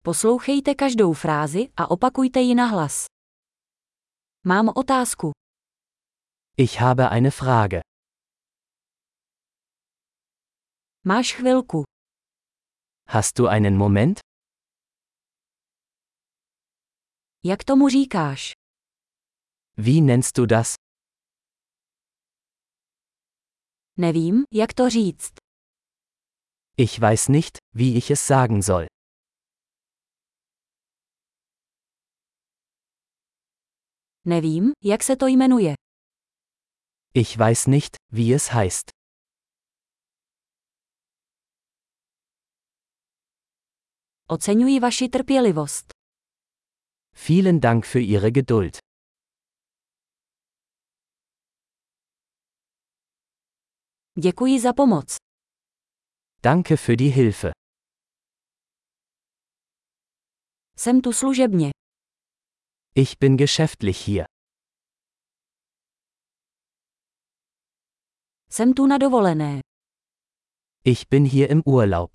Poslouchejte každou frázi a opakujte ji nahlas. Mám otázku. Ich habe eine Frage. Máš chvilku. Hast du einen Moment? Jak tomu říkáš? Wie nennst du das? Nevím, jak to říct. Ich weiß nicht, wie ich es sagen soll. Nevím, jak se to jmenuje. Ich weiß nicht, wie es heißt. Oceňuji vaši trpělivost. Vielen Dank für Ihre Geduld. Děkuji za pomoc. Danke für die Hilfe. Jsem tu služebně. Ich bin geschäftlich hier. Jsem tu na dovolené. Ich bin hier im Urlaub.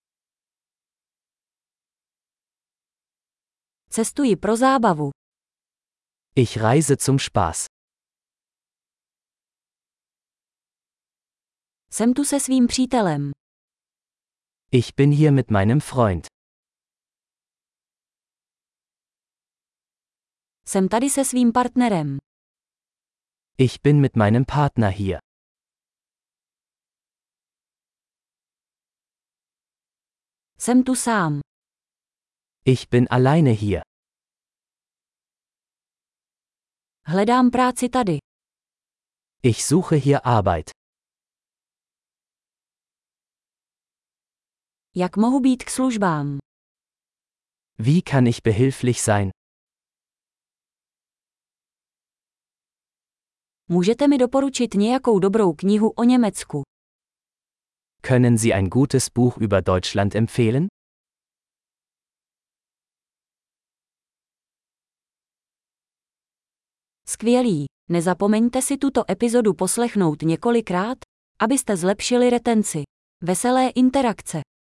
Cestuji pro zábavu. Ich reise zum Spaß. Jsem tu se svým přítelem. Ich bin hier mit meinem Freund. Jsem tady se svým partnerem. Ich bin mit meinem Partner hier. Jsem tu sám. Ich bin alleine hier. Hledám práci tady. Ich suche hier Arbeit. Jak mohu být k službám? Wie kann ich behilflich sein? Můžete mi doporučit nějakou dobrou knihu o Německu? Können Sie ein gutes Buch über Deutschland empfehlen? Skvělý. Nezapomeňte si tuto epizodu poslechnout několikrát, abyste zlepšili retenci. Veselé interakce.